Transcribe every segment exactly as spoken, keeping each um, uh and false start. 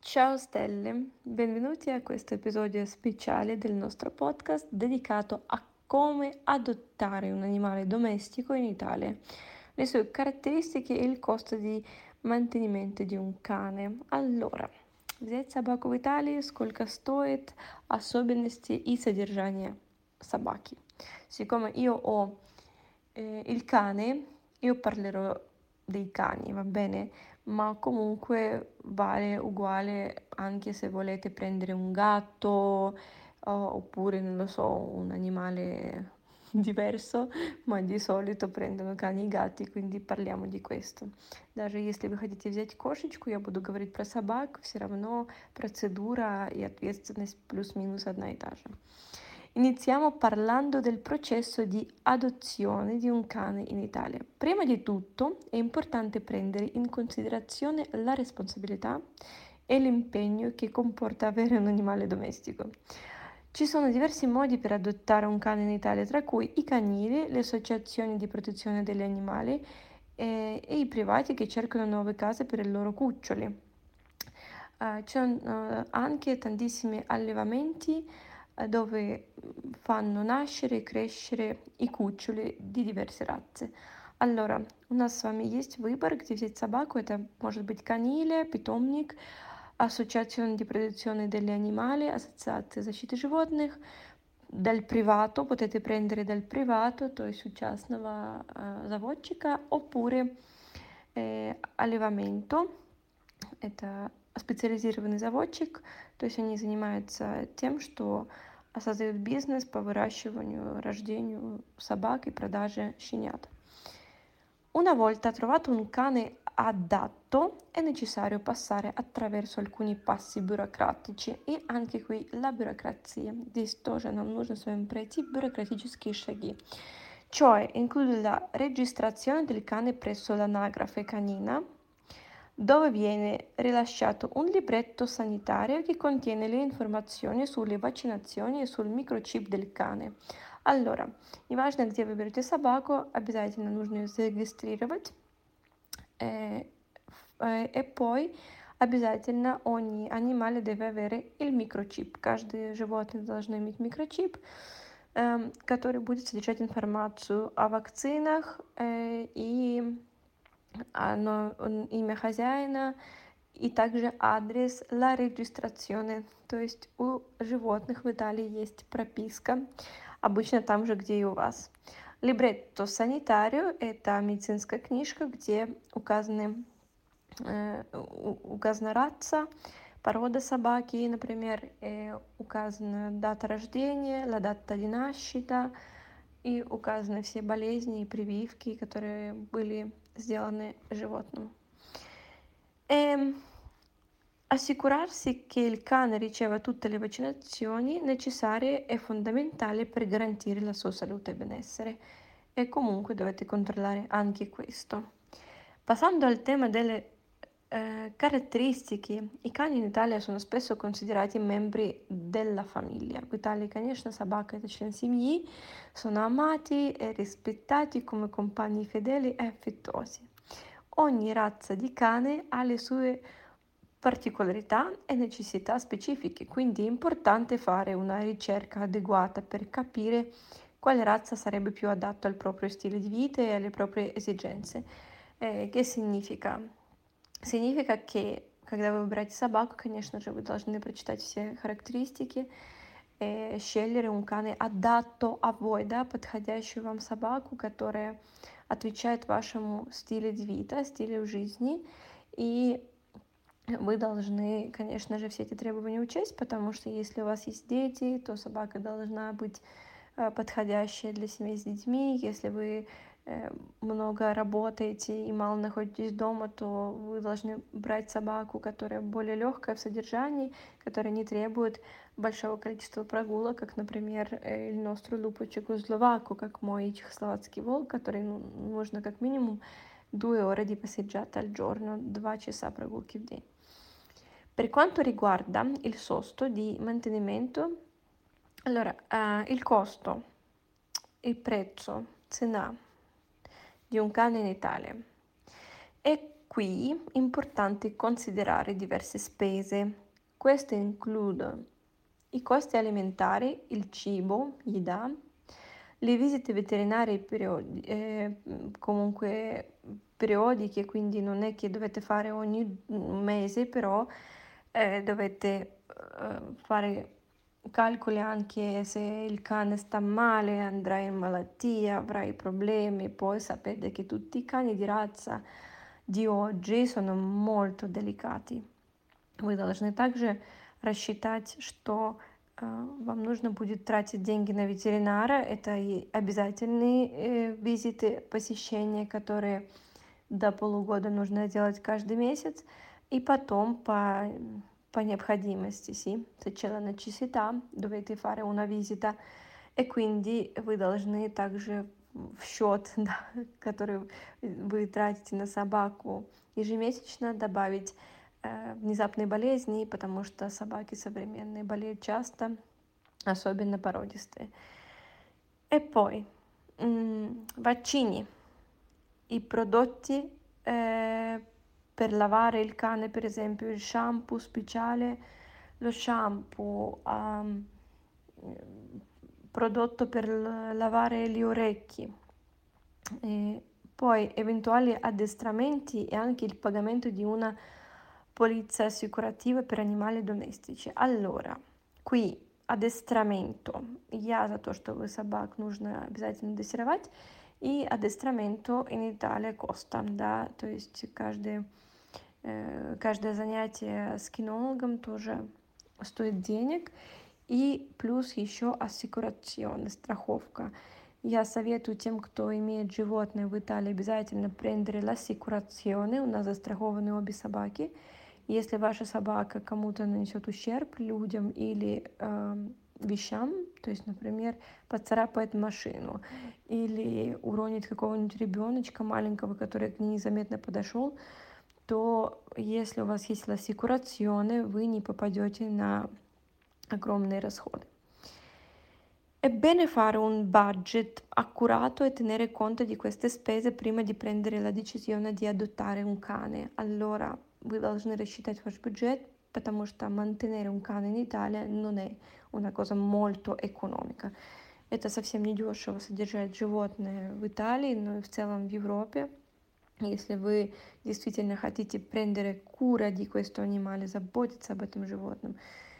Ciao stelle, benvenuti a questo episodio speciale del nostro podcast dedicato a come adottare un animale domestico in Italia, le sue caratteristiche e il costo di mantenimento di un cane. Allora, взять собаку в Италии сколько стоит, особенности и содержание собаки. Siccome io ho eh, il cane, io parlerò dei cani, va bene? Ma comunque vale uguale anche se volete prendere un gatto o- oppure, non lo so, un animale diverso, ma di solito prendono cani и гати, quindi parliamo di questo. Даже если вы хотите взять кошечку, я буду говорить про собак, все равно процедура и ответственность плюс-минус одна и та же. Iniziamo parlando del processo di adozione di un cane in Italia. Prima di tutto è importante prendere in considerazione la responsabilità e l'impegno che comporta avere un animale domestico. Ci sono diversi modi per adottare un cane in Italia, tra cui i canili, le associazioni di protezione degli animali e, e i privati che cercano nuove case per i loro cuccioli. Uh, ci sono uh, anche tantissimi allevamenti uh, dove fanno nascere e crescere i cuccioli di diverse razze. Allora, у нас с вами есть выбор, где взять собаку. Это может быть каниле, питомник, Associazione di protezione degli animali, Associazione защиты животных, dal privato, potete prendere dal privato, то есть у частного uh, заводчика, oppure eh, allevamento. Это специализированный заводчик, то есть они занимаются тем, что создают бизнес по выращиванию, рождению собак и продаже щенят. Una volta trovato un cane adatto, è necessario passare attraverso alcuni passi burocratici, и anche qui la burocrazia. Здесь тоже нам нужно с вами пройти бюрократические шаги. Cioè include la registrazione del cane presso l'anagrafe canina, dove viene rilasciato un libretto sanitario che contiene le informazioni sulle vaccinazioni e sul microchip del cane. Allora, неважно, где вы берете собаку, обязательно нужно ее зарегистрировать. Eh, eh, e poi обязательно ogni animale deve avere il microchip. Каждое животное должно иметь микрочип, эм, который будет содержать информацию о вакцинах э, и оно, он- имя хозяина и также адрес la registrazione. То есть у животных в Италии есть прописка, обычно там же, где и у вас. Libretto sanitario– это медицинская книжка, где указаны, э, у- указана раса, порода собаки, например, э, указана дата рождения, la data di nascita, и указаны все болезни и прививки, которые были сделаны животным. Ehm, Assicurarsi che il cane riceva tutte le vaccinazioni necessarie è fondamentale per garantire la sua salute e benessere e comunque dovete controllare anche questo. Passando al tema delle eh, caratteristiche, i cani in Italia sono spesso considerati membri della famiglia. В Италии, конечно, собака– это член семьи, sono amati e rispettati come compagni fedeli e affettuosi. Ogni razza di cane ha le sue particolarità e necessità specifiche, quindi è importante fare una ricerca adeguata per capire quale razza sarebbe più adatta al proprio stile di vita e alle proprie esigenze. Eh, che significa? Significa che, когда вы выбираете собаку, конечно же, вы должны прочитать все характеристики, э, scegliere un cane adatto a voi, да, подходящую вам собаку, которая отвечает вашему стилю de vita, стилю жизни. И вы должны, конечно же, все эти требования учесть, потому что если у вас есть дети, то собака должна быть э, подходящая для семей с детьми. Если вы э, много работаете и мало находитесь дома, то вы должны брать собаку, которая более легкая в содержании, которая не требует большого количества прогулок, как, например, э, il nostro lupo cecoslovacco, как мой чехословацкий волк, который ну, нужно как минимум due ore di passeggiata al giorno, два часа прогулки в день. Per quanto riguarda il costo di mantenimento, allora, eh, il costo, il prezzo, цена di un cane in Italia è qui è importante considerare diverse spese. Queste includono i costi alimentari, il cibo, gli-da, le visite veterinarie periodi- eh, comunque periodiche, quindi non è che dovete fare ogni mese, però eh, dovete eh, fare calcoli anche se il cane sta male, andrà in malattia, avrai problemi. Poi sapete che tutti i cani di razza di oggi sono molto delicati. Вы должны также рассчитать, что э, вам нужно будет тратить деньги на ветеринара. Это и обязательные э, визиты, посещения, которые до полугода нужно делать каждый месяц. И потом по, по необходимости, sì, se c'è la necessità, dovete fare una visita. E quindi вы должны также в счет, да, который вы тратите на собаку ежемесячно, добавить э, внезапные болезни, потому что собаки современные болеют часто, особенно породистые. E poi mm, vaccini, i prodotti eh, per lavare il cane, per esempio il shampoo speciale, lo shampoo, um, prodotto per lavare gli orecchi, e poi eventuali addestramenti e anche il pagamento di una polizza assicurativa per animali domestici. Allora, qui адестраменто. Я за то, чтобы собак нужно обязательно дрессировать. И адестраменто in Italia costa, да, то есть каждое, э, каждое занятие с кинологом тоже стоит денег. И плюс еще ассикурационная страховка. Я советую тем, кто имеет животное в Италии, обязательно prendere l'assicurazione. У нас застрахованы обе собаки. Если ваша собака кому-то нанесет ущерб, людям или э, вещам, то есть, например, поцарапает машину или уронит какого-нибудь ребеночка маленького, который к ней незаметно подошел, то если у вас есть l'assicurazione, вы не попадете на огромные расходы. È bene fare un budget accurato e tenere conto di queste spese prima di prendere la decisione di adottare un cane. Allora, вы должны рассчитать ваш бюджет, потому что mantenere un cane in Italia non è una cosa molto economica. Это совсем не дешево содержать животное в Италии, но и в целом в Европе. Если вы действительно хотите prendere cura di questo animale, заботиться об этом животном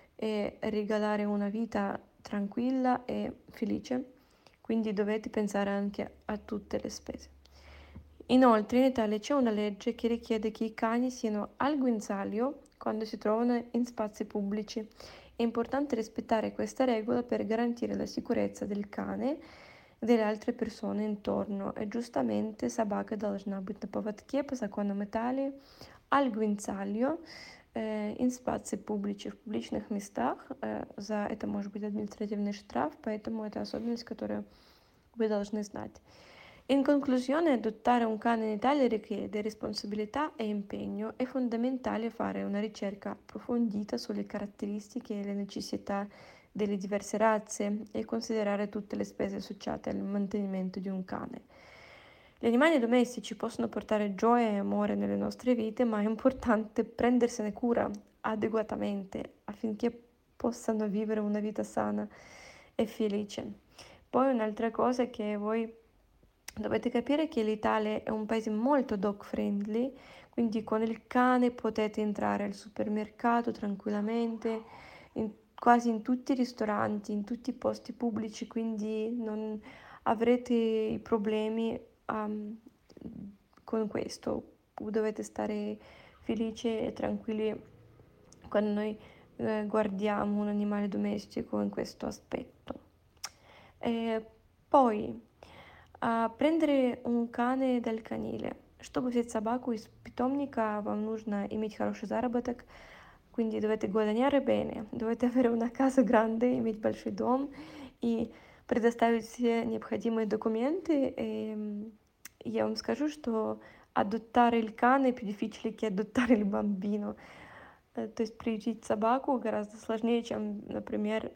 e regalare una vita tranquilla e felice, quindi dovete pensare anche a tutte le spese. Inoltre in Italia c'è una legge che richiede che i cani siano al guinzaglio quando si trovano in spazi pubblici. È importante rispettare questa regola per garantire la sicurezza del cane e delle altre persone intorno. E giustamente собака должна быть на поводке по законам Италии al guinzaglio in spazi pubblici, в публичных местах. За это может быть административный штраф, поэтому это особенность, которую вы должны знать. In conclusione, adottare un cane in Italia richiede responsabilità e impegno. È fondamentale fare una ricerca approfondita sulle caratteristiche e le necessità delle diverse razze e considerare tutte le spese associate al mantenimento di un cane. Gli animali domestici possono portare gioia e amore nelle nostre vite, ma è importante prendersene cura adeguatamente affinché possano vivere una vita sana e felice. Poi un'altra cosa è che voi dovete capire che l'Italia è un paese molto dog friendly, quindi con il cane potete entrare al supermercato tranquillamente, in, quasi in tutti i ristoranti, in tutti i posti pubblici, quindi non avrete problemi um, con questo. Dovete stare felici e tranquilli quando noi eh, guardiamo un animale domestico in questo aspetto. E poi А, prendere un cane dal canile. Чтобы взять собаку из питомника, вам нужно иметь хороший заработок, quindi dovete guadagnare bene, dovete avere una casa grande, иметь большой дом и предоставить все необходимые документы. И я вам скажу, что adottare il cane è più difficile che adottare il bambino. То есть приютить собаку гораздо сложнее, чем, например,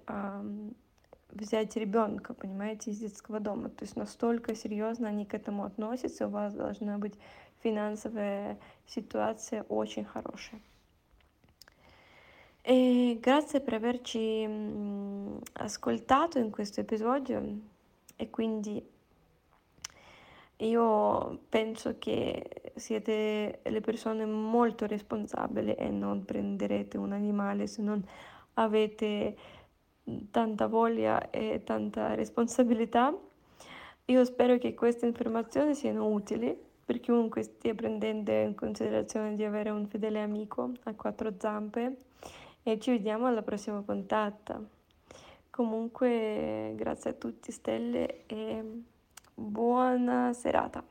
взять ребенка, понимаете, из детского дома. То есть настолько серьезно они к этому относятся, у вас должна быть финансовая ситуация очень хорошая. E grazie per averci mm, ascoltato in questo episodio e quindi io penso che siete le persone molto responsabili e non prenderete un animale se non avete tanta voglia e tanta responsabilità. Io spero che queste informazioni siano utili per chiunque stia prendendo in considerazione di avere un fedele amico a quattro zampe e ci vediamo alla prossima puntata. Comunque, grazie a tutti, stelle, e buona serata.